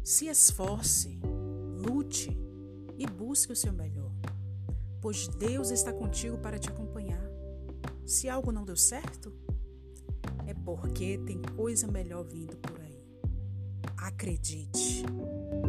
Se esforce, lute e busque o seu melhor, pois Deus está contigo para te acompanhar. Se algo não deu certo, é porque tem coisa melhor vindo por aí. Acredite!